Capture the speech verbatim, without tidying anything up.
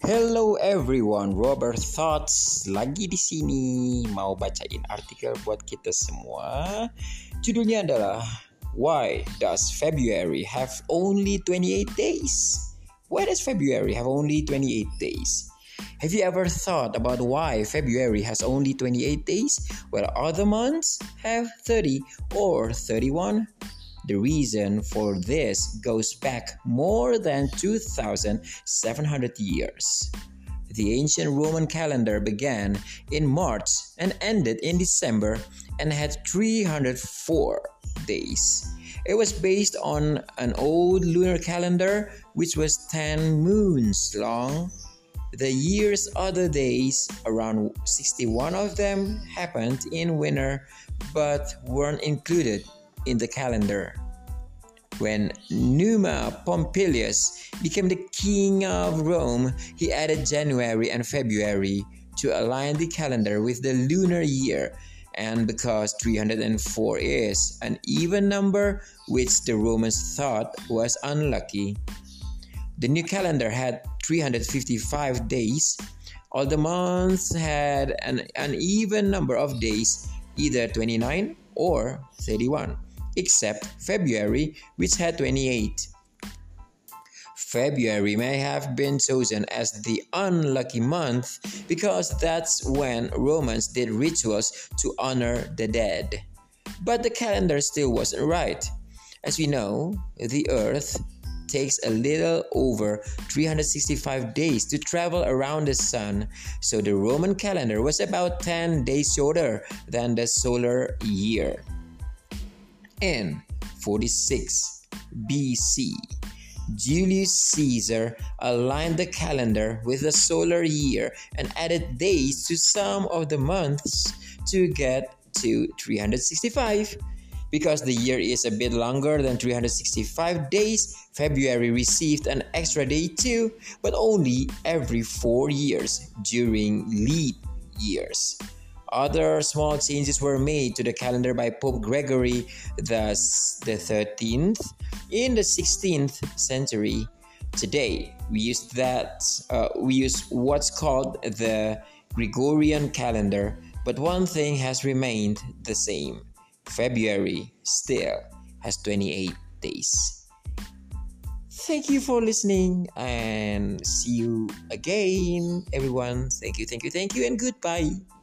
Hello everyone, Robert Thoughts lagi di sini mau bacain artikel buat kita semua. Judulnya adalah Why does February have only twenty-eight days? Why does February have only twenty-eight days? Have you ever thought about why February has only twenty-eight days while other months have thirty or thirty-one? The reason for this goes back more than two thousand seven hundred years. The ancient Roman calendar began in March and ended in December and had three hundred four days. It was based on an old lunar calendar which was ten moons long. The year's other days, around sixty-one of them, happened in winter but weren't included in the calendar. When Numa Pompilius became the king of Rome, he added January and February to align the calendar with the lunar year. And because three hundred four is an even number, which the Romans thought was unlucky, the new calendar had three hundred fifty-five days. All the months had an uneven number of days, either twenty-nine or thirty-one, except February, which had twenty-eight. February may have been chosen as the unlucky month because that's when Romans did rituals to honor the dead. But the calendar still wasn't right. As we know, the Earth takes a little over three hundred sixty-five days to travel around the sun, so the Roman calendar was about ten days shorter than the solar year. In forty-six B C, Julius Caesar aligned the calendar with the solar year and added days to some of the months to get to three hundred sixty-five. Because the year is a bit longer than three hundred sixty-five days, February received an extra day too, but only every four years during leap years. Other small changes were made to the calendar by Pope Gregory the thirteenth in the sixteenth century. Today, we use that uh, we use what's called the Gregorian calendar, but one thing has remained the same. February still has twenty-eight days. Thank you for listening and see you again, everyone. Thank you, thank you, thank you, and goodbye.